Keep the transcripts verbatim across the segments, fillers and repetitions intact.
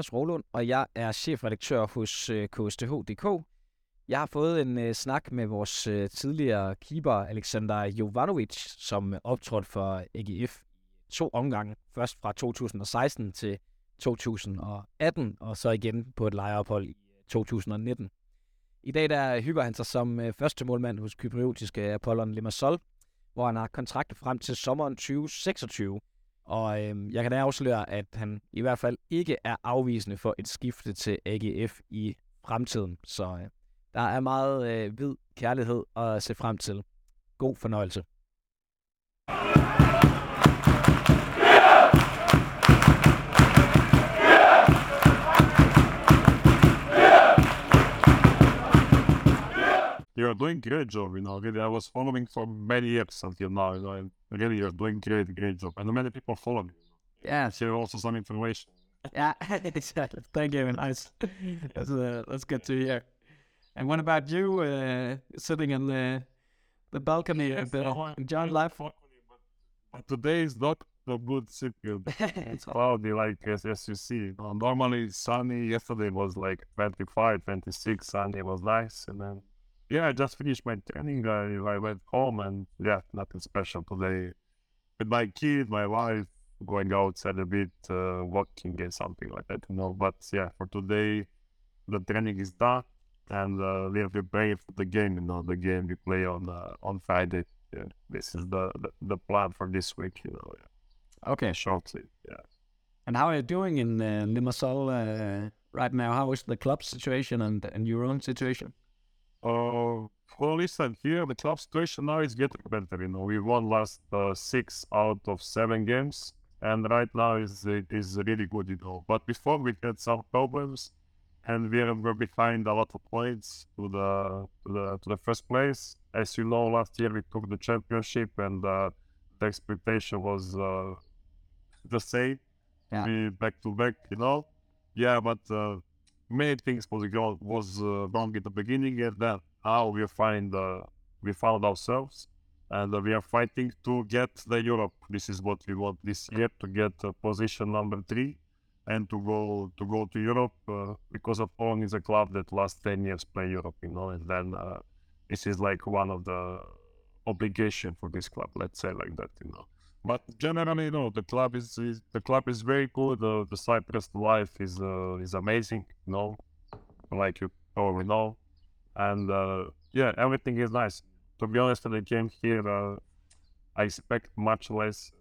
Thomas Rolund, og jeg er chefredaktør hos øh, K S T H punktum d k. Jeg har fået en øh, snak med vores øh, tidligere keeper, Alexander Jovanovic, som optrådte for A G F to omgange. Først fra to tusind og seksten til to tusind og atten, og så igen på et lejeophold i to tusind og nitten. I dag der hygger han sig som øh, første målmand hos kypriotiske Apollon Limassol, hvor han har kontrakt frem til sommeren tyve seksogtyve. Og øh, jeg kan da afsløre, at han i hvert fald ikke er afvisende for et skifte til A G F i fremtiden. Så øh, der er meget øh, hvid kærlighed at se frem til. God fornøjelse. You're doing great job, you know. Really, I was following for many years until now, you know. And really, you're doing great, great job. And many people follow me. Yeah. Share also some information. Yeah, exactly. Thank you. Nice. That's, uh, that's good to hear. And what about you, uh, sitting in the the balcony Yes, of the I- John Life? But but today is not a good circle. It's cloudy, like as, as you see. Uh, normally sunny. Yesterday was like twenty-five, twenty-six. Sunday was nice, and then yeah, I just finished my training. I, I went home, and yeah, nothing special today. With my kid, my wife, going outside a bit, uh, walking and something like that, you know. But yeah, for today, the training is done, and uh, we are preparing for the game. You know, the game we play on uh, on Friday. Yeah, this is the, the the plan for this week. You know, yeah. Okay. Shortly. Yeah. And how are you doing in uh, Limassol uh, right now? How is the club situation and, and your own situation? Uh, well, listen, here the club situation now is getting better. You know, we won last uh, six out of seven games, and right now is it is really good. You know, but before we had some problems, and we were behind a lot of points to the to the to the first place. As you know, last year we took the championship, and uh, the expectation was uh, the same. Yeah. We back to back. You know, yeah, but. Uh, Many things was wrong, was uh, wrong in the beginning, and then now we find uh, we found ourselves, and uh, we are fighting to get the Europe. This is what we want this year, to get uh, position number three, and to go to go to Europe uh, because Apollon is a club that last ten years play Europe, you know, and then uh, this is like one of the obligation for this club. Let's say like that, you know. But generally, you know, the club is, is the club is very good. Uh, the Cyprus life is uh, is amazing, you know, like you probably know, and uh, yeah, everything is nice. To be honest, when I came here, uh, I expect much less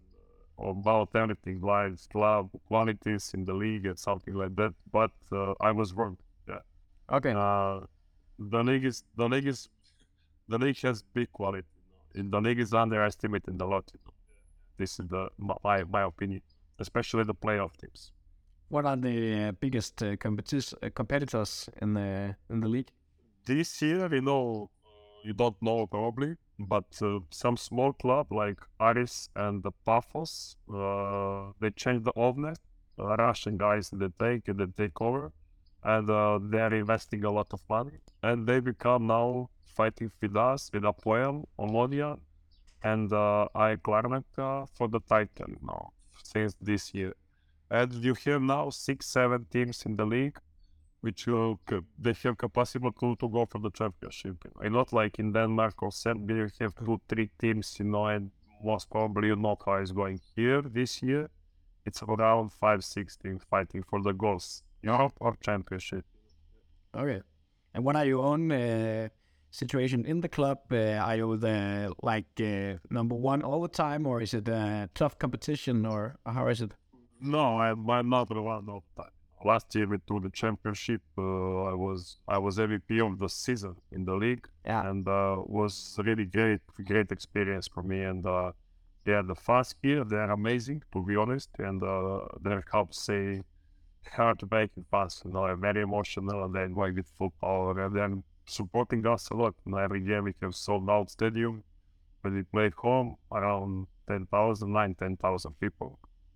about everything, like club qualities in the league and something like that. But uh, I was wrong. Yeah, Okay. uh, the league is the league is the league has big quality. You know? The league is underestimated a lot. You know? This is the my my opinion, especially the playoff teams. What are the uh, biggest uh, competi- uh, competitors in the in the league? This year, you know, you don't know probably, but uh, some small club like Aris and the Paphos, uh, they changed the owner, uh, Russian guys that take they take over, and uh, they're investing a lot of money, and they become now fighting with us, with Apoel, Omonia, and uh, I Larnaca for the title now since this year. And you have now six, seven teams in the league, which will they have capacity to, to go for the championship. You know? And not like in Denmark or Serbia, you have two, three teams, you know, and most probably you know how it's going here this year. It's around five, six teams fighting for the goals, Europe or championship. Okay. And what are your own uh, situation in the club? Uh, are you the like uh, number one all the time, or is it a tough competition, or how is it? No, I'm, I'm not the one all the time. Last year we took the championship. Uh, I was I was M V P of the season in the league, Yeah. and uh, was really great, great experience for me. And uh, yeah, the fans here, they're amazing, to be honest, and uh, they're how to say heartbreaking fans. You know, they're very emotional, and they're going with full power, and they're supporting us a lot. You know, every year we have sold out stadium. When we played home, around ten thousand, nine, ten thousand people.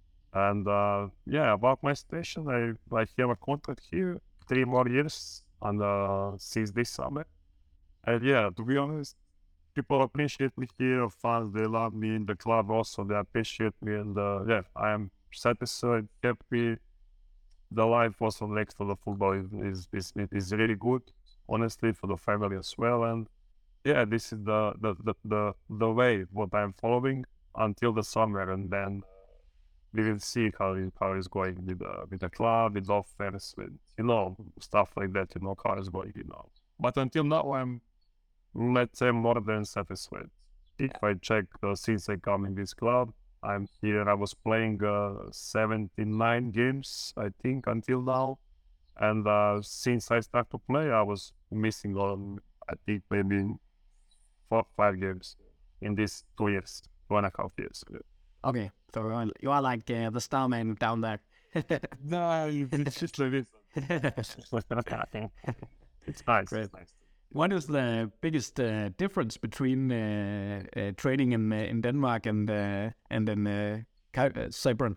And uh, yeah, about my station, I, I have a contract here, three more years, and uh, since this summer. And yeah, to be honest, people appreciate me here, fans, they love me in the club also, they appreciate me, and uh, yeah, I am satisfied, happy, the life also next to the football is is is, is really good, honestly, for the family as well. And yeah, this is the the the the, the way what I'm following until the summer, and then we will see how it, how it's going with the with the club, with offers, with you know stuff like that. You know how it's going, you know. But until now, I'm let's say more than satisfied. If I check uh, since I come in this club, I'm here. I was playing uh, seventy-nine games, I think, until now. And uh, since I started to play, I was missing on, I think, maybe four, five games in these two years, two and a half years. Okay, so you are, you are like uh, the star man down there. No, it's just like this. It's nice. Great. It's nice. What is the biggest uh, difference between uh, uh, training in uh, in Denmark and uh, and in uh, Ky- uh, Cypern?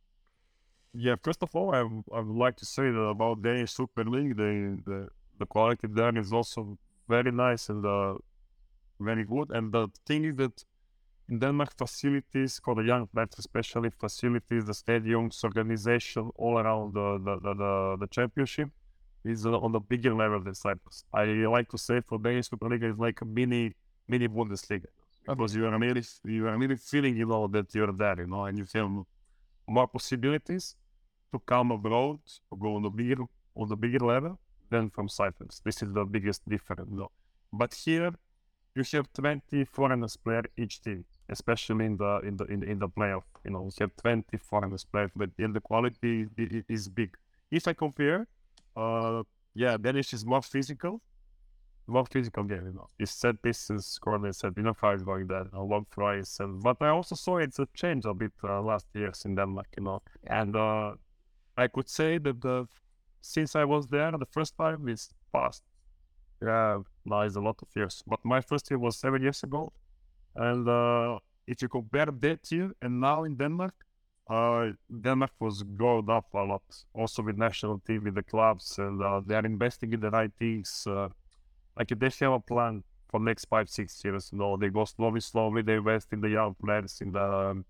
Yeah, first of all, I, w- I would like to say that about Danish Super League, the, the the quality there is also very nice and uh, very good. And the thing is that in Denmark, facilities for the young players, especially facilities, the stadiums, organization all around the the the, the, the championship is uh, on the bigger level than Cyprus. I like to say for Danish Super League is like a mini mini Bundesliga because you are really you are really feeling you know that you're there, you know, and you have more possibilities to come abroad to go on the bigger on the bigger level than from Cyprus. This is the biggest difference, though. But here you have twenty foreigners player each team, especially in the in the in, in the playoff. You know, you have twenty foreigners players, but in the quality i- i- is big. If I compare, uh, yeah, Danish is more physical, more physical game. You know, it's set pieces, corner set. You know how it's going there, you know, long throws. And but I also saw it's a change a bit uh, last years in Denmark. You know, and uh, I could say that the since I was there the first time is past. Yeah, now it's a lot of years. But my first year was seven years ago. And uh, if you compare that year and now in Denmark, uh, Denmark was growing up a lot. Also with national team, with the clubs, and uh, they are investing in the right things. Uh, like they have a plan for next five, six years. You know, they go slowly, slowly. They invest in the young players, in the um,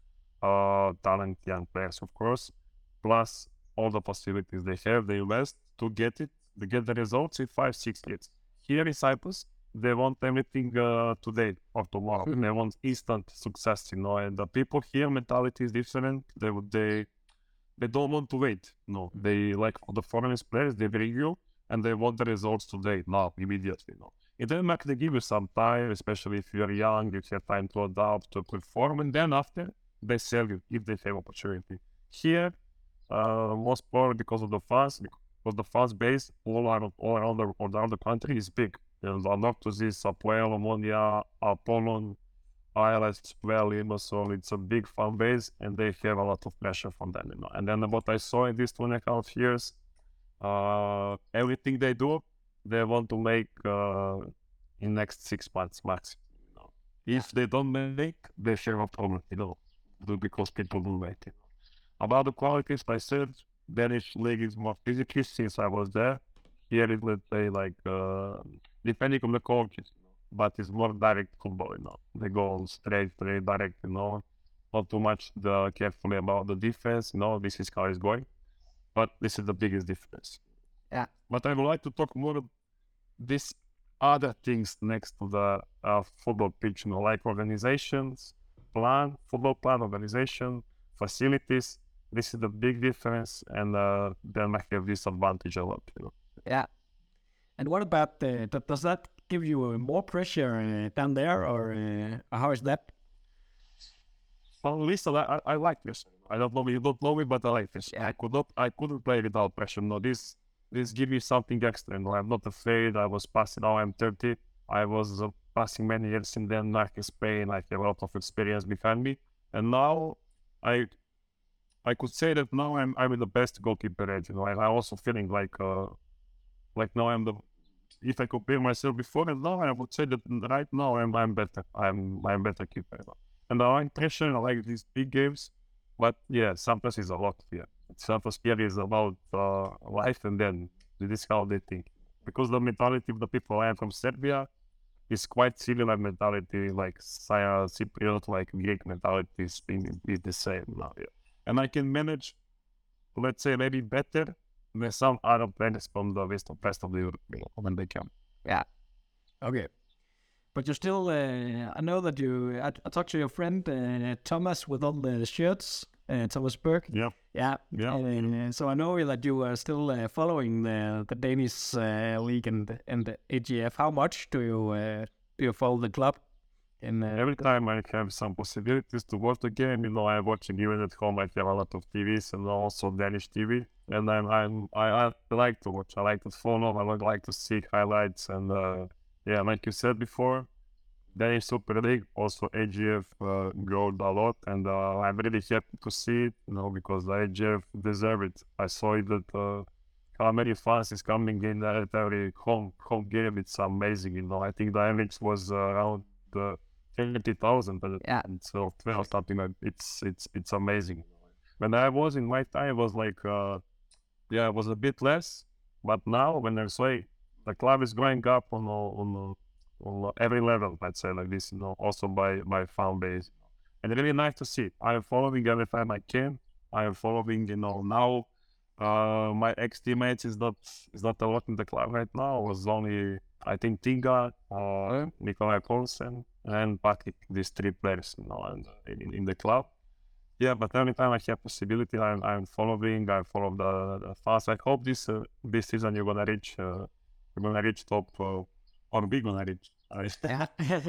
uh, talent young players, of course. Plus all the facilities they have, they invest to get it, to get the results in five, six years. Here in Cyprus, they want everything uh, today or tomorrow. Mhm. They want instant success, you know. And the people here mentality is different. They would they they don't want to wait. No, they like for the foreign players. They bring you and they want the results today, now, immediately. No, in Denmark they give you some time, especially if you are young. You have time to adapt, to perform, and then after they sell you if they have opportunity. Here, uh, most probably because of the fans, because the fans base all around all around the all around the country is big. And Anoctosis, Apoel, Omonia, Apollon, I L S, well, Limassol, it's a big fan base and they have a lot of pressure from them, you know. And then what I saw in these two and a half years, uh, everything they do, they want to make uh, in next six months max. You know. If they don't make, they have a problem, you know, because people don't wait. You know. About the qualities, I said Danish league is more physically since I was there. Here is, let's say, like uh, depending on the coaches, you know, but it's more direct football. You know, they go straight, straight, direct. You know, not too much the carefully about the defense. You know, this is how it's going, but this is the biggest difference. Yeah. But I would like to talk more of these other things next to the uh, football pitch. You know, like organizations, plan, football plan, organization, facilities. This is the big difference, and uh, Denmark have this advantage a lot. You know. Yeah. And what about the, th- does that give you uh, more pressure uh, down there, or uh, how is that? Well, listen, I, I, I like this. I don't know, you don't know me, but I like this. Yeah. I could not, I couldn't play without pressure. No, this, this give me something extra. No, I'm not afraid. I was passing. Now I'm thirty. I was uh, passing many years in Denmark, in Spain. I have a lot of experience behind me, and now I, I could say that now I'm, I'm in the best goalkeeper age. You know, and I'm also feeling like, uh, like now I'm the. If I compare myself before and now, I would say that right now I'm, I'm better. I'm, I'm better keeper. You know. And I like pressure, I like these big games, but yeah, sometimes it's a lot here. Sometimes here is about uh, life, and then this is how they think. Because the mentality of the people I am from Serbia is quite similar mentality, like Cy- Cypriot, like Greek mentality is, is the same now. Yeah. And I can manage let's say, maybe better than some other players from the rest of, rest of the Europe when they come. Yeah. Okay. But you still, uh, I know that you, I, I talked to your friend uh, Thomas with all the shirts, uh, Thomas Berg. Yeah. Yeah. Yeah. Uh, so I know that you are still uh, following the, the Danish uh, league and and the A G F. How much do you uh, do you follow the club? And uh, every time I have some possibilities to watch the game, you know, I'm watching even at home. I have a lot of T Vs and also Danish T V, and I'm, I'm I, I like to watch. I like to follow. I would like to see highlights, and uh, yeah, like you said before, Danish Super League, also A G F uh, growed a lot, and uh, I'm really happy to see it, you know, because the A G F deserve it. I saw it that uh, how many fans is coming in at every home home game. It's amazing, you know. I think the average was uh, around uh, twenty thousand, but yeah, so twelve something like it's it's it's amazing. When I was in my time, it was like uh, yeah, it was a bit less, but now when I say the club is going up on on on every level, let's say like this, you know, also by by fan base, and really nice to see. I am following every time I can. I am following, you know, now. Uh, my ex teammates is not is not a lot in the club right now. It was only I think Tinga, uh, Nikolai Poulsen, and Patrick. These three players, you know, and in, in the club. Yeah, but every time I have possibility, I'm I'm following. I follow the, the fast. I hope this uh, this season you're gonna reach uh, you're gonna reach top uh, or we're gonna reach. Yeah.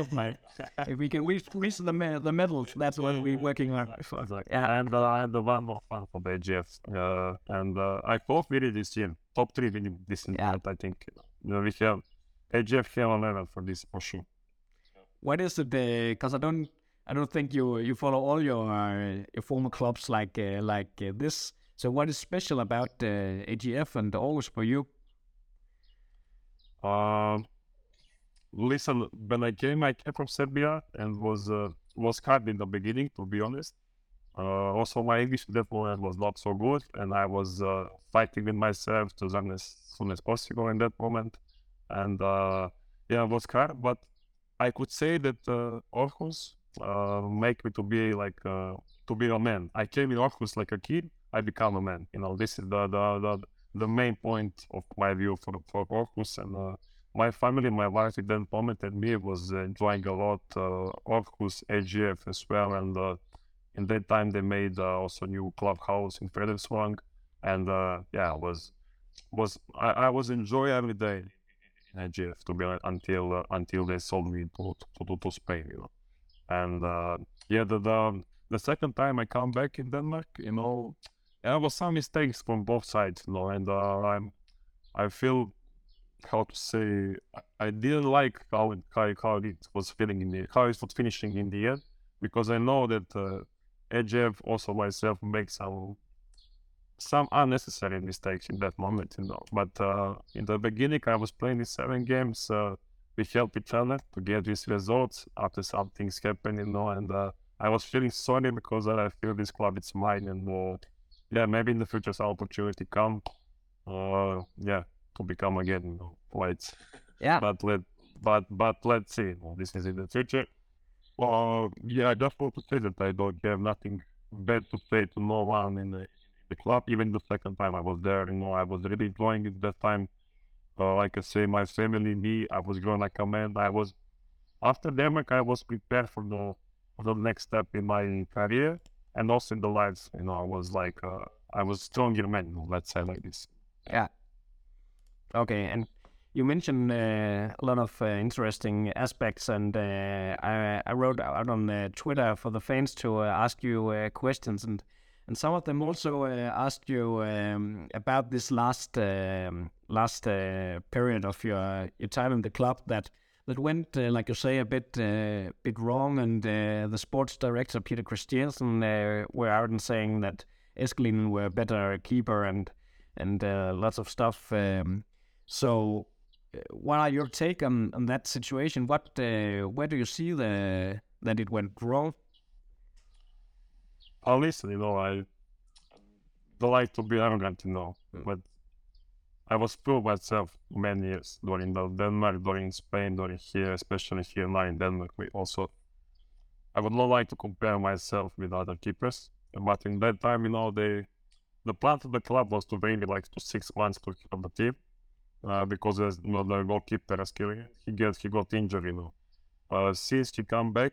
If we can reach, reach the me- the medals, that's what we're working on. Exactly. Yeah, and uh, and the one more fun for the A G F. Uh, and uh, I hope we reach this year top three winning this year. Yeah. I think you know, we have A G F have a level for this for sure. What is it? Because uh, I don't I don't think you you follow all your uh, your former clubs like uh, like uh, this. So what is special about uh, A G F and Aarhus for you? Um. Listen, when I came, I came from Serbia and was uh, was hard in the beginning, to be honest. Uh, also, my English at that moment was not so good, and I was uh, fighting with myself to learn as soon as possible in that moment. And uh, yeah, it was hard, but I could say that uh, Aarhus uh, make me to be like uh, to be a man. I came in Aarhus like a kid. I become a man. You know, this is the the the, the main point of my view for for Aarhus. And uh, my family, my wife at that moment and me was uh, enjoying a lot uh, Aarhus, A G F as well. And uh, in that time they made uh, also new clubhouse in Frederiksvang. And uh, yeah, was was I, I was enjoy every day in A G F to be honest, until uh, until they sold me to to, to Spain, you know. And uh, yeah, the, the the second time I come back in Denmark, you know, there was some mistakes from both sides, you know, and uh, I'm I feel. How to say? I didn't like how it, how, how it was feeling in the how it was finishing in the end, because I know that uh, A G F also myself make some some unnecessary mistakes in that moment, you know. But uh, in the beginning, I was playing these seven games. Uh, we helped each other to get these results after some things happened, you know. And uh, I was feeling sorry because I feel this club is mine, and uh, yeah, maybe in the future some opportunity come. Uh, yeah. To become again, you know, white. Yeah. But let, but but let's see. You know, this is in the future. Well, yeah, I just want to say that I don't have nothing bad to say to no one in the, in the club. Even the second time I was there, you know, I was really enjoying it that time. Uh, like I say, my family, me, I was growing like a man. I was after Denmark, I was prepared for the for the next step in my career and also in the lives. You know, I was like, uh, I was stronger man. Let's say like this. Yeah. Okay, and you mentioned uh, a lot of uh, interesting aspects, and uh, I, I wrote out on uh, Twitter for the fans to uh, ask you uh, questions, and, and some of them also uh, asked you um, about this last um, last uh, period of your your time in the club that that went, uh, like you say, a bit uh, bit wrong, and uh, the sports director Peter Christiansen uh, were out and saying that Eskelinen were a better keeper and and uh, lots of stuff. Um, So, uh, what are your take on, on that situation? What, uh, where do you see the that it went wrong? Oh, listen, you know, I don't like to be arrogant, you know, mm. but I was proved myself many years during the Denmark, during Spain, during here, especially here now in Denmark. We also, I would not like to compare myself with other keepers, but in that time, you know, they the plan of the club was to bring me like to six months to keep the team uh, because there's, you know, the goalkeeper Askelian, he get he got injured, you know. Uh, since he come back,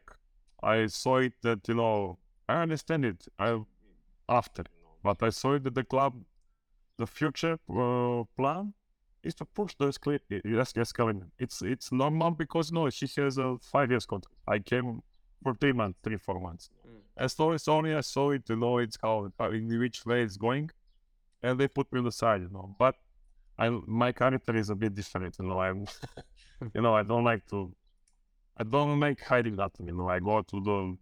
I saw it that, you know, I understand it. I after, you know, but I saw it that the club, the future uh, plan is to push the Askelian. It's it's normal because no, she has a five years contract. I came for three months, three four months. Mm. As long as only I saw it, you know, it's how, how in which way it's going, and they put me on the side, you know. But I my character is a bit different, you know. I'm, you know, I don't like to. I don't make hiding that, you know. I go to the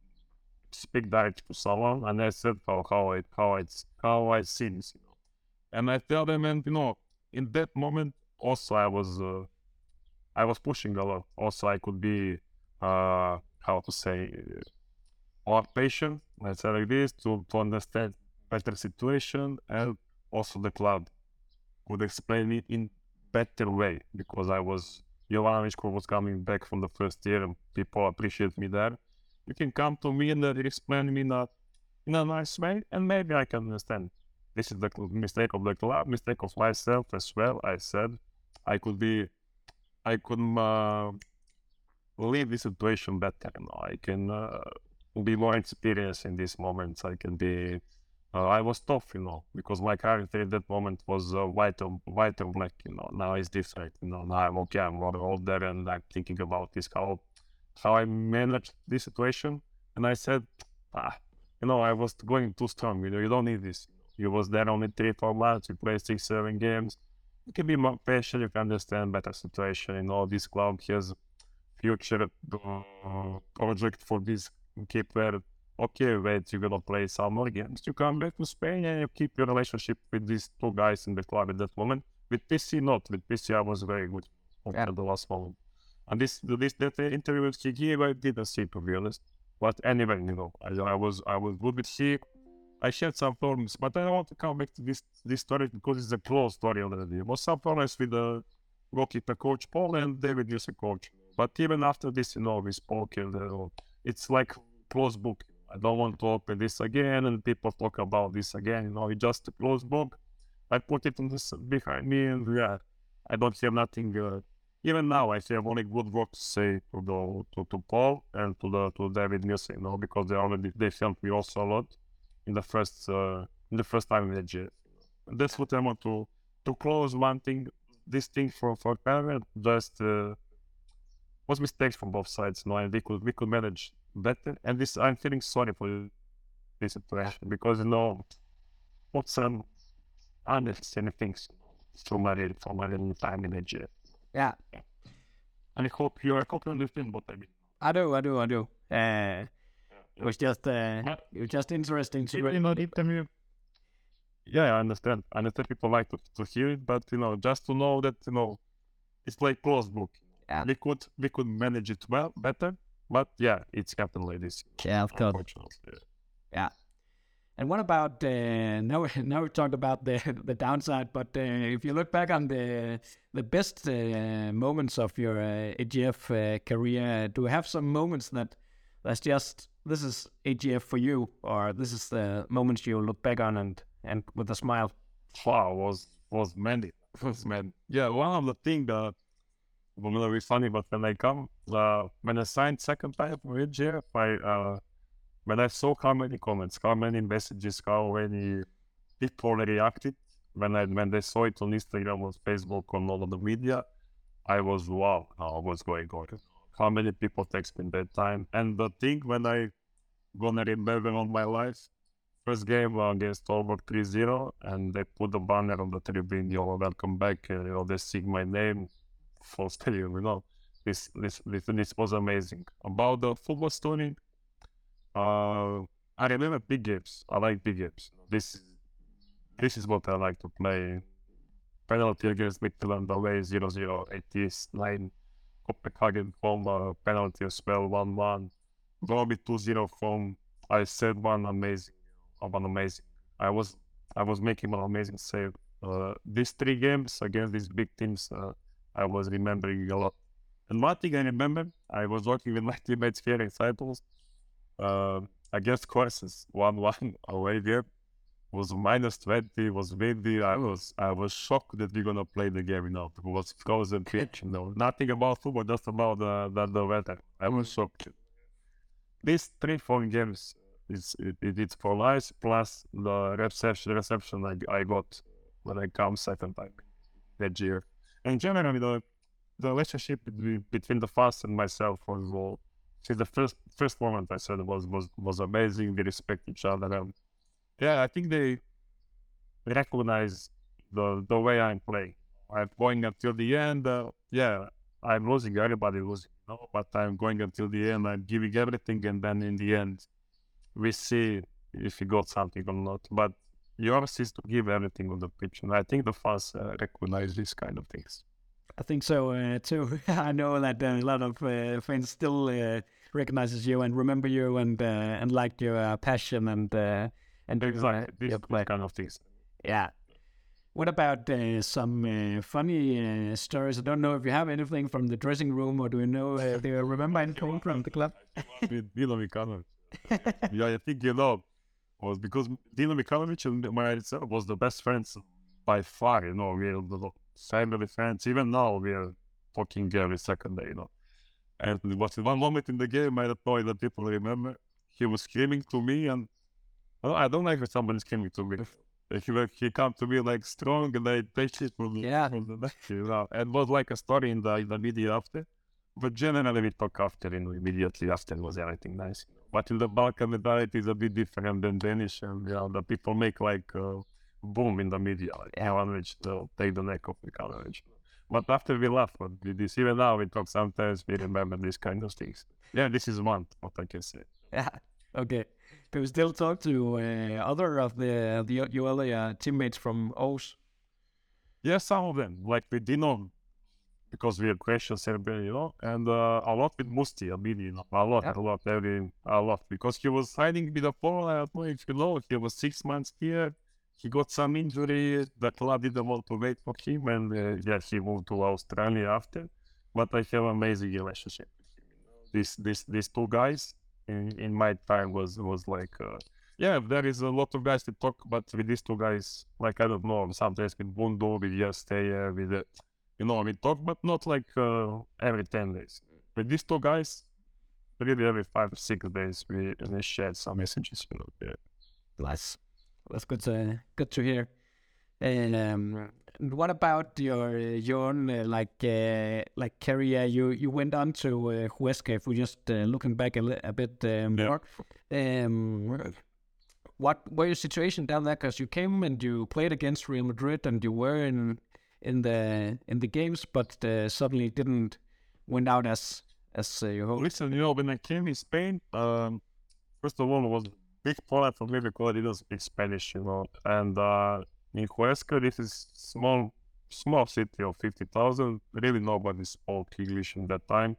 speak direct to someone, and I said how how it how it's how I see this, you know. And I tell them, and you know, in that moment also I was uh, I was pushing a lot. Also, I could be uh, how to say more patient. Let's say like this to to understand better situation, and also the club could explain it in better way because I was. Jovanovic was coming back from the first year and people appreciate me there. You can come to me and uh, explain me in a, in a nice way and maybe I can understand. This is the mistake of the club, mistake of myself as well. I said I could be, I could uh, leave this situation better. You know? I can uh, be more experienced in these moments. I can be, uh, I was tough, you know, because my character at that moment was uh, white or white or black, you know. Now it's different, you know. Now I'm okay, I'm more older, and I'm thinking about this how how I managed this situation. And I said, ah, you know, I was going too strong. You know, you don't need this. You was there only three, four months. You play six, seven games. You can be more patient. You can understand better situation. You know, this club has future uh, project for this keeper. Okay, wait, you're gonna play some more games. You come back to Spain and you keep your relationship with these two guys in the club at that moment. With P C, not. With P C, I was very good until yeah. the last moment. And this, this that interview with Higi, I didn't see, to be honest. But anyway, you know, I, I was I was good with Higi. I shared some problems, but I don't want to come back to this this story because it's a close story already. There was some problems with the goalkeeper coach Paul and David Nielsen coach. But even after this, you know, we spoke and uh, it's like closed book. I don't want to open this again and people talk about this again. You know, it's just a closed book. I put it on this behind me and yeah, I don't have nothing. Uh, even now, I have only good work to say to the to, to Paul and to the to David Nielsen, you know, because they already they helped me also a lot in the first uh, in the first time in the G F. And that's what I want to to close one thing. This thing for for Pervert just uh, was mistakes from both sides. You know, and we could we could manage better. And this I'm feeling sorry for this situation because you know what some unnecessary things so much for my little time in the G F. Yeah. And I hope you I hope you understand what I mean. I do, I do, I do. Uh, it was just uh, yeah. it was just interesting to you know, interview. Yeah, I understand. I understand people like to, to hear it, but you know, just to know that you know, it's like closed book. Yeah. We could we could manage it well better, but yeah, it's happened like this. Yeah, of course. Yeah. yeah. And what about uh, now? Now we talked about the the downside, but uh, if you look back on the the best uh, moments of your uh, A G F uh, career, do you have some moments that that's just this is A G F for you, or this is the moments you look back on and and with a smile? Wow, was was many, was many. Yeah, one of the things that was really funny, but when I come, uh, when I signed second time for A G F, I. Uh, When I saw how many comments, how many messages, how many people reacted, when I when they saw it on Instagram, on Facebook, on all of the media, I was wow, how was going on? How many people text me that time? And the thing when I gonna remember on my life, first game against Aalborg three zero, and they put the banner on the tribune, you know, welcome back, and you know, they sing my name for stadium, you know. This this this this was amazing. About the football story. Uh, I remember big games. I like big games. This, this is what I like to play. Penalty against Midtjylland away zero zero, eighty-nine. Copenhagen home uh, penalty as well, one one. Derby two zero from. I said one amazing, one amazing. I was, I was making one amazing save. Uh, these three games against these big teams, uh, I was remembering a lot. And one thing I remember, I was working with my teammates here in Cyprus. Uh, against Courses, one one away game. was minus twenty, was windy. I was I was shocked that we're gonna play the game, you know. It was frozen pitch, you know. Nothing about football, just about the, the, the weather. I was shocked. These three, four games, it's, it, it, it's for life, plus the reception reception I, I got when I come second time that year. And generally, the, the relationship between, between the Fast and myself was, well, since the first first moment I said was, was, was amazing. They respect each other. And yeah, I think they recognize the the way I'm playing. I'm going until the end. Uh, yeah, I'm losing. Everybody losing, you know, but I'm going until the end. I'm giving everything, and then in the end, we see if you got something or not. But yours is to give everything on the pitch, and I think the fans uh, recognize these kind of things. I think so uh, too. I know that uh, a lot of uh, fans still uh, recognizes you and remember you and uh, and like your uh, passion and uh, and exactly uh, these, yep. these kind of things. Yeah. What about uh, some uh, funny uh, stories? I don't know if you have anything from the dressing room, or do you know? Uh, do you remember anything from the club? With Dino Mikanovic. Yeah, I think you know was because Dino Mikanovic and myself was the best friends by far. You know, we're the family friends. Even now, we are talking every second day. You know, and it was one moment in the game. I don't know if the people remember. He was screaming to me, and oh, I don't like when somebody screaming to me. He like he come to me like strong, and I take it from the, Yeah. from the neck, you know. And it was like a story in the in the media after. But generally we talk after, you know, immediately after was everything nice. You know. But in the Balkan mentality is a bit different than Danish, and you know, the people make like uh, boom in the media, like Ivanovic, they'll take the neck of Mikanovic. But after we laugh at this, even now we talk sometimes, we remember these kind of things. Yeah, this is one, what I can say. Yeah. Okay. Do you still talk to uh, other of the the your other uh, teammates from Aarhus? Yeah, some of them, like with Dino, because we are Croatian, Serbian, you know, and uh, a lot with Musti, Albini, you know, a lot, Yeah. a lot, every, a lot, because he was hiding with the Pole. I don't know if you know, he was six months here. He got some injury. The club didn't want to wait for him, and uh, yeah, he moved to Australia after. But I have amazing relationship with him. You know? These, these, these two guys in, in my time was was like. Uh, Yeah, there is a lot of guys to talk, but with these two guys, like, I don't know, sometimes with Bundo, with Yasteya, with, uh, you know, we talk, but not like uh, every ten days. With these two guys, really every five or six days, we, we shared some messages, you know. Yeah. Nice. That's good to good to hear. And um, what about your your own uh, like uh, like career? You you went on to uh, Huesca. If we're just uh, looking back a, li- a bit uh, more, um, what were your situation down there? Because you came and you played against Real Madrid, and you were in in the in the games, but uh, suddenly didn't went out as as uh, you hoped. Listen, you know, when I came in Spain, um, first of all, it was a big problem for me because I didn't speak Spanish, you know, and uh, in Huesca, this is small, small city of fifty thousand. Really, nobody spoke English in that time.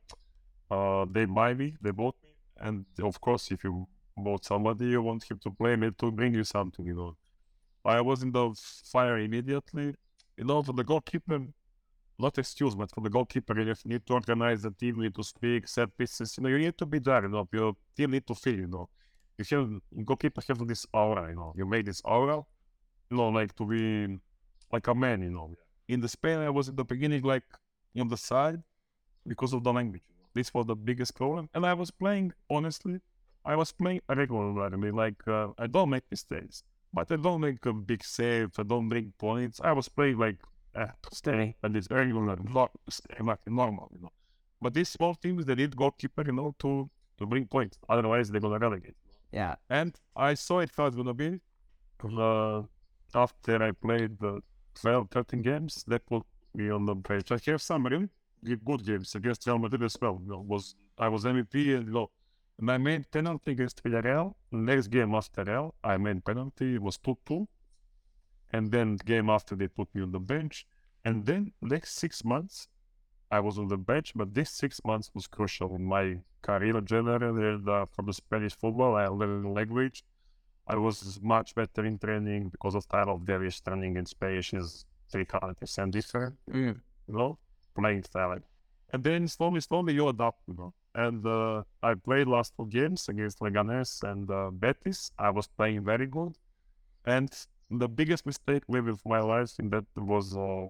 Uh, they buy me, they bought me, and of course, if you bought somebody, you want him to play me to bring you something, you know. I was in the fire immediately. You know, for the goalkeeper, not excuse, but for the goalkeeper, you need to organize the team, you need to speak, set pieces. You know, you need to be there. You know, your team need to feel. You know, you have goalkeeper have this aura. You know, you made this aura. You know, like to be like a man. You know, in the Spain, I was in the beginning like on the side because of the language. You know? This was the biggest problem, and I was playing honestly. I was playing regularly. Like uh, I don't make mistakes, but I don't make a big save. I don't bring points. I was playing like. Uh, stay and it's regular, not stay like normal, you know. But these small teams, they need goalkeeper, you know, to to bring points. Otherwise, they're gonna relegate. Yeah. And I saw it how it's gonna be. Uh, after I played the twelve, thirteen games, they put me on the bench. I have some really good games against Real Madrid as well. You know, was I was M V P, and you know, and I made penalty against Villarreal. Next game after Real, I made penalty. It was two two. And then the game after, they put me on the bench. And then next six months, I was on the bench. But this six months was crucial in my career generally. And, uh, for the Spanish football, I learned the language. I was much better in training because of style of Danish training in Spanish is three hundred percent different, Mm. you know, playing style. And then slowly, slowly you adapt, you know. And uh, I played last two games against Leganés and uh, Betis. I was playing very good. And the biggest mistake maybe of my life in that was uh,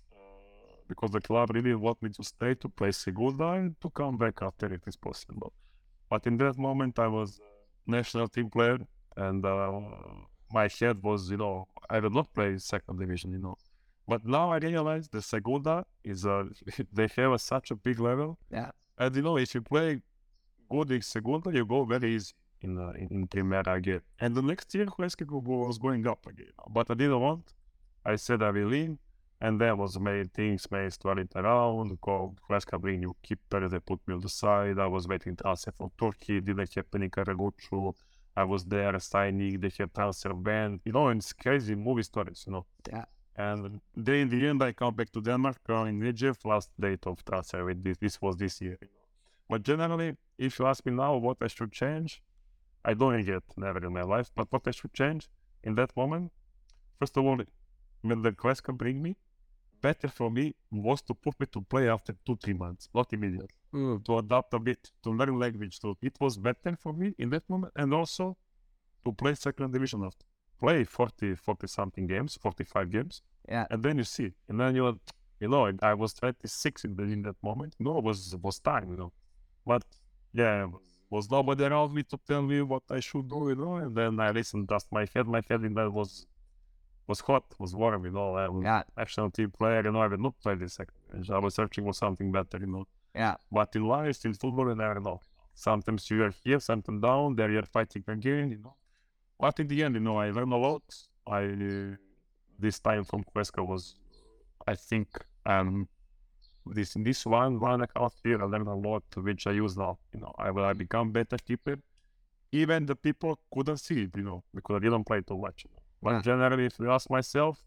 because the club really want me to stay to play Segunda and to come back after it is possible. But in that moment, I was a national team player, and uh, my head was, you know, I will not play second division, you know. But now I realize the Segunda is a, they have a, such a big level. Yeah. And, you know, if you play good in Segunda, you go very easy in uh, in, in Primera again. And the next year, Huesca was going up again. But I didn't want. I said I will leave. And there was many things, many started around. Called Huesca bring new keeper, they put me on the side. I was waiting transfer from Turkey, didn't have any Karagucu. I was there signing, they had transfer ban. You know, and it's crazy movie stories, you know. Yeah. And then in the end, I come back to Denmark uh, in Nigeria, last date of transfer with this. This was this year. You know. But generally, if you ask me now what I should change, I don't regret never in my life. But what I should change in that moment, first of all, when the Huesca bring me, better for me was to put me to play after two, three months, not immediately. Mm. To adapt a bit, to learn language. So it was better for me in that moment, and also to play second division after. Play forty, forty something games, forty-five games, yeah, and then you see, and then you, you know, I was twenty-six in, the, in that moment. You know, it was was time, you know, but yeah, was nobody around me to tell me what I should do, you know. And then I listened, just my head, my head in that was was hot, was warm, you know. I was yeah, national team player, you know. I would not play this second. I was searching for something better, you know. Yeah. But in life, in football, you never know. Sometimes you are here, sometimes down. There you are fighting again, you know. But in the end, you know, I learned a lot. I uh, this time from Huesca was, I think, um, this this one one and a half year I learned a lot, which I use now. You know, I will I become better keeper. Even the people couldn't see it, you know, because I didn't play too much. You know. But yeah. Generally, if you ask myself,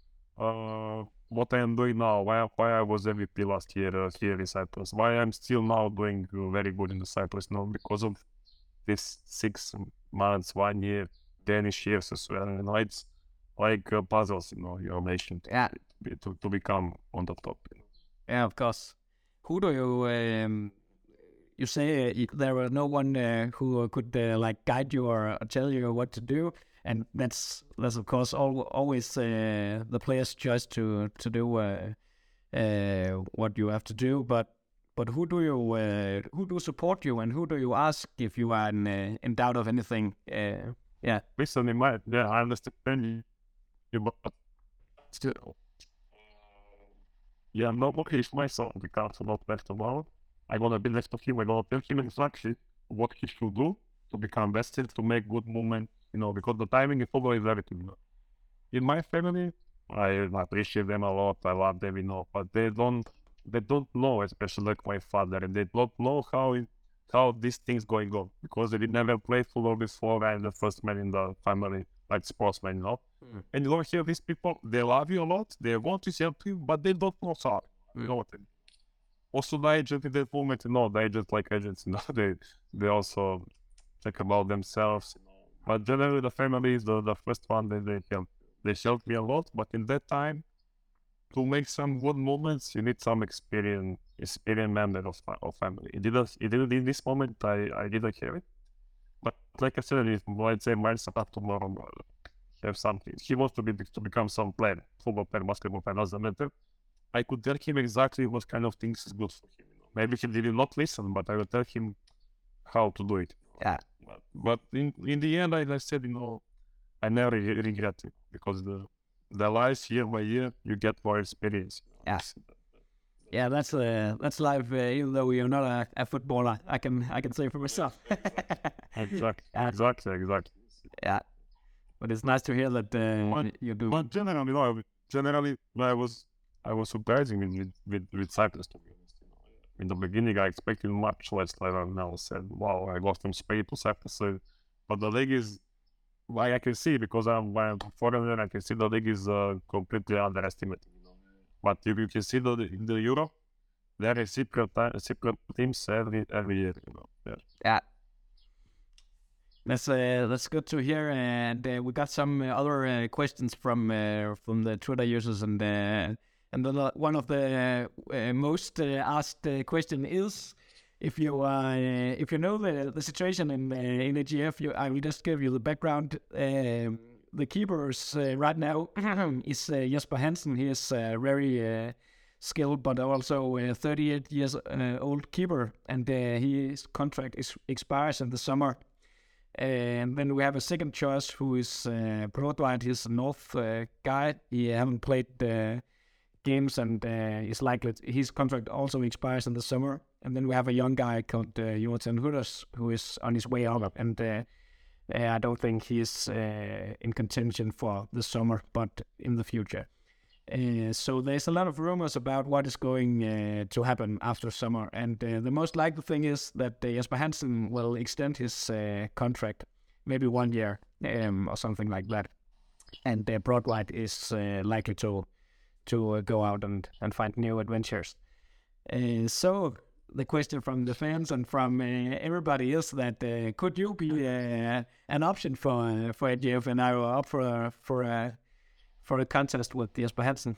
uh, what I am doing now, why why I was M V P last year uh, here in Cyprus, why I'm still now doing uh, very good in the Cyprus now, because of this six months, one year. Danish years as well, you know, it's like uh, puzzles, you know, your nation to, yeah. to, to become on the top. You know? Yeah, of course. Who do you, um, you say uh, there was no one uh, who could uh, like guide you or tell you what to do, and that's, that's of course al always uh, the player's choice to, to do uh, uh, what you have to do, but But who do you uh, who do support you, and who do you ask if you are in, uh, in doubt of anything? Uh, Yeah. Listen, in my, yeah, I understand you, but still, yeah, nobody is my son becomes not best tomorrow. I'm gonna be next to him. I'm gonna tell him exactly what he should do to become best, to make good movement, you know, because the timing in football is everything. You know. In my family, I appreciate them a lot. I love them, you know, but they don't, they don't know, especially like my father, and they don't know how it, how these things going on, because they did never play football before. I'm the first man in the family, like sportsman, you know. Mm. And you don't hear these people, they love you a lot, they want to help you, but they don't know how. Mm. You know what I mean? Also, the agent in that moment, you know, the agents like agents, you know, they they also think about themselves, you know. But generally, the family is the, the first one that they help. They helped me a lot, but in that time, to make some good moments, you need some experience, experienced member of of family. It didn't, it didn't in this moment. I, I didn't have it, but like I said, if let's say Miles up tomorrow have something, he wants to be to become some player, football player, basketball player, doesn't matter. I could tell him exactly what kind of things is good for him. You know? Maybe he did not listen, but I will tell him how to do it. Yeah. But, but in in the end, I, I said, you know, I never regret it, because the the life year by year you get more experience. Yeah. Yeah, that's uh, that's life. Uh, even though you're not a, a footballer, I can I can say for myself. exactly. Yeah. Exactly. Exactly. Yeah. But it's nice to hear that uh, but, you do. But generally, you know, generally, I was I was surprising with with with Cyprus, to be honest. You know, in the beginning, I expected much less. Like I now said, wow, I got from Spain to Cyprus, so, but the league is. Like I can see, because I'm, I'm a foreigner, I can see the league is uh, completely underestimated. You know? But if you can see the in the Euro, there is secret secret teams every every year. You know. Yeah. Yeah. That's uh, that's good to hear, and uh, we got some uh, other uh, questions from uh, from the Twitter users, and uh, and the, one of the uh, most uh, asked uh, question is. If you uh, if you know the the situation in uh, in A G F, you, I will just give you the background. Um, the keepers uh, right now is uh, Jesper Hansen. He is uh, very uh, skilled, but also a thirty-eight years uh, old keeper, and uh, his contract is expires in the summer. And then we have a second choice who is uh, Brodweit. He's a North uh, guy. He haven't played uh, games, and uh, is likely to, his contract also expires in the summer. And then we have a young guy called uh, Jonathan Hutters, who is on his way up, and uh, uh, I don't think he's uh, in contention for the summer, but in the future. Uh, so there's a lot of rumors about what is going uh, to happen after summer, and uh, the most likely thing is that uh, Jesper Hansen will extend his uh, contract, maybe one year um, or something like that, and uh, Brodweit is uh, likely to to uh, go out and, and find new adventures. Uh, so the question from the fans and from uh, everybody is that uh, could you be uh, an option for uh, for A G F, and are you up for for a for a contest with Jesper Hansen?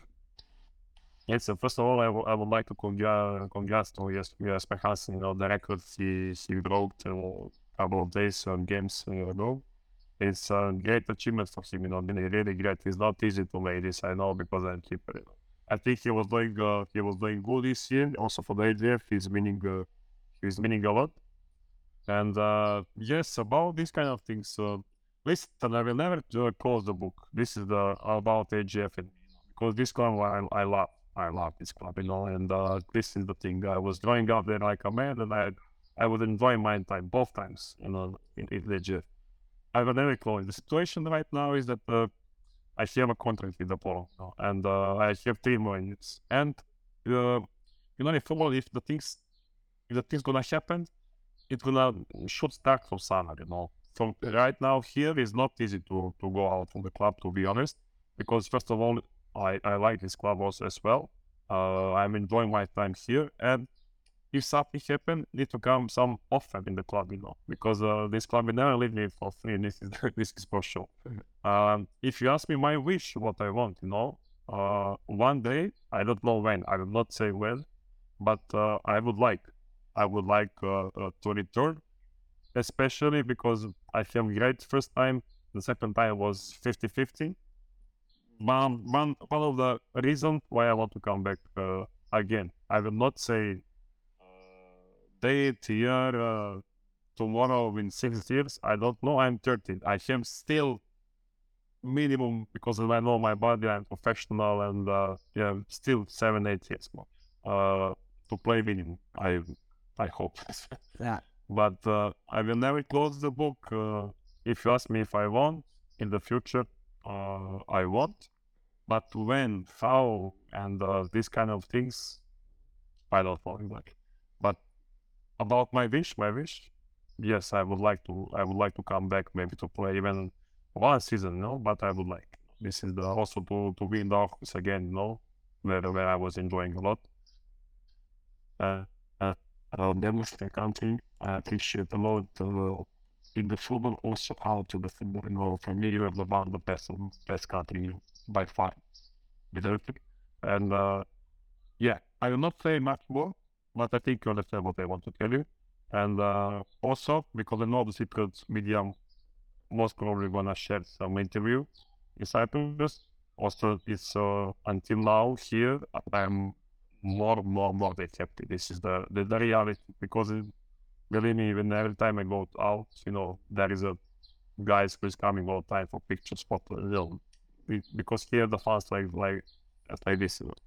Yes, so first of all, I, w- I would like to congratulate congrats to Jes- Jesper Hansen. You know, the record he, he broke a couple of days on games uh, ago. It's a great achievement for him, you know, really, really great. It's not easy to make this, I know, because I'm keeper. You know. I think he was doing uh, he was doing good this year. Also for the A G F, he's winning uh, he's winning a lot. And uh, yes, about these kind of things, uh, listen, I will never uh, close the book. This is the about A G F, and, because this club I, I love. I love this club, you know, and uh, this is the thing. I was growing up there like a man, and I I would enjoy my time both times, you know, in, in A G F. I will never close. The situation right now is that uh, I have a contract with Apollo, you know, and uh, I have three more years. And uh, you know, in football, if the things if the things gonna happen, it gonna should start from summer, you know. From right now here is not easy to to go out from the club, to be honest, because first of all, I, I like this club also as well. Uh, I'm enjoying my time here, and if something happen, need to come some offer in the club, you know, because uh, this club will never leave me for free. This is this is for sure. Um, if you ask me my wish, what I want, you know, uh, one day, I don't know when, I will not say when, but uh, I would like, I would like uh, uh, to return, especially because I feel great first time. The second time was fifty-fifty. One, one, one of the reasons why I want to come back uh, again, I will not say uh, date, year, uh, tomorrow in six years. I don't know. I'm thirteen. I am still minimum, because I know my body. I'm professional, and uh, yeah, still seven, eight years more uh, to play minimum. I, I hope. Yeah. But uh, I will never close the book. Uh, if you ask me if I want in the future, uh, I want. But when, how, and uh, these kind of things, I don't know exactly. But about my wish, my wish, yes, I would like to. I would like to come back, maybe to play even one season, no. But I would like. This is the, also to to be in the office again, you know, where where I was enjoying a lot. Uh, uh, uh, demonstrate country. I appreciate a lot uh, in the football, also out to the football. You know, for me, you have one of the best best country by far, without it. And uh, yeah, I will not say much more, but I think you understand what I want to tell you. And uh, also, because I know the secret media most probably gonna share some interview in Cyprus. Also, it's uh, until now here, I'm more, more, more happy. This is the, the, the reality, because it, believe me, even every time I go out, you know, there is a guys who is coming all the time for pictures, photos, you know, because here the fans like like like this. You know.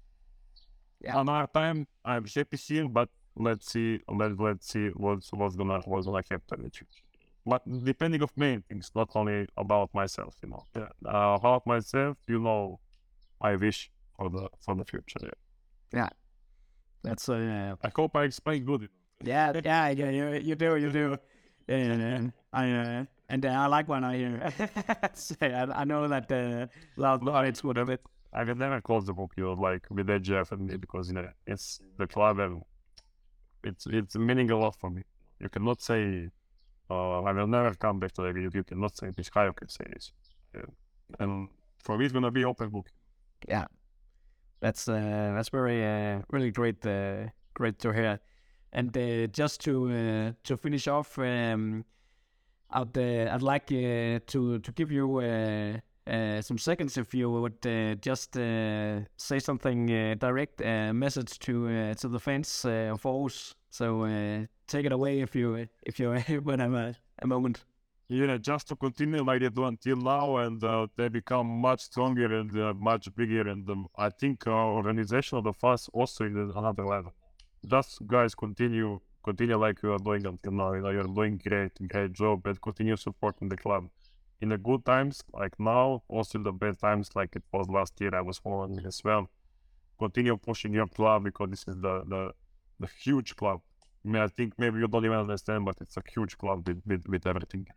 Yeah. On our time, I'm happy here, but let's see, let let's see what's what's gonna what's gonna happen in the future. But depending of many things, not only about myself, you know. Yeah. Uh, about myself, you know, I wish for the for the future. Yeah. Yeah. That's uh, I hope I explained good. Yeah, yeah, yeah, you, you do, you do. And I uh, and uh, I like when I hear. Say, I, I know that uh, loud noise would have it. I will never close the book, you know, like with A G F and me, because you know it's the club and it's it's meaning a lot for me. You cannot say uh, I will never come back to the league. You cannot say this. How you can say this? Yeah. And for me, it's gonna be open book. Yeah, that's uh, that's very uh, really great, uh, great to hear. And uh, just to uh, to finish off, um, I'd uh, I'd like uh, to to give you uh, uh, some seconds if you would uh, just uh, say something uh, direct uh, message to uh, to the fans uh, of Aarhus. So uh, take it away if you if you would have a, a moment. Yeah, just to continue like they do until now, and uh, they become much stronger and uh, much bigger. And um, I think our organization of the fans also is another level. Just guys continue, continue like you are doing until now. You know, you're doing great, great job, and continue supporting the club. In the good times, like now, also in the bad times, like it was last year, I was following as well. Continue pushing your club because this is the the, the huge club. I mean, I think maybe you don't even understand, but it's a huge club with with, with everything.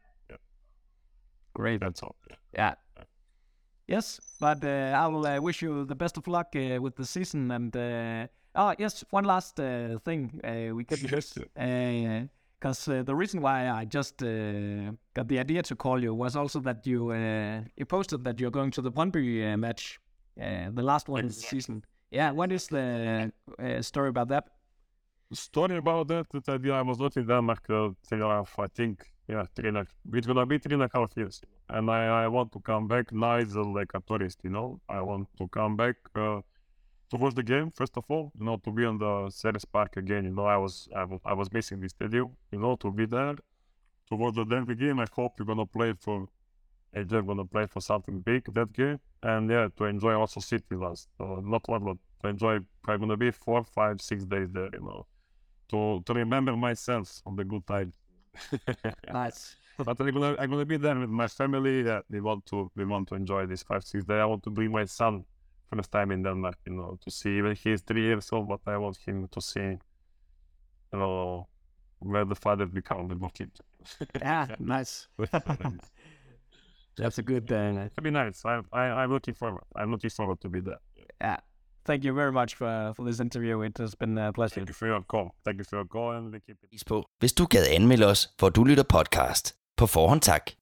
Great. That's all. Yeah. Yes, but uh, I will uh, wish you the best of luck uh, with the season. And uh, oh, yes, one last uh, thing uh, we could Yes. because uh, uh, the reason why I just uh, got the idea to call you was also that you uh, you posted that you're going to the Brøndby uh, match, uh, the last one in the season. Yeah, what is the uh, story about that? Story about that, that I, I was not in Denmark uh, three and a half, I think, yeah, three and a, it's gonna be three and a half years. And I, I want to come back now as a, like a tourist, you know. I want to come back uh, to watch the game, first of all, you know, to be on the Ceres Park again, you know. I was I, was, I was missing the stadium, you know, to be there, to watch the Denver game. I hope you're gonna play for, A J gonna play for something big that game. And yeah, to enjoy also city last, uh, not one, but to enjoy, I'm gonna be four, five, six days there, you know. To, to remember myself on the good times. Nice. But I'm gonna I'm gonna be there with my family. Yeah, we want to we want to enjoy this five six days. I want to bring my son first time in Denmark, you know, to see. Even he's three years old, but I want him to see, you know, where the father become the kid. Yeah, nice. That's a good. Uh, It'll be nice. I I I'm looking forward. I'm looking forward to be there. yeah. Thank you very much for, for this interview. It has been a pleasure. Thank you for your call. Thank you for your call, and we keep it. På. Hvis du gad anmelde os, hvor du lytter podcast. På forhånd tak.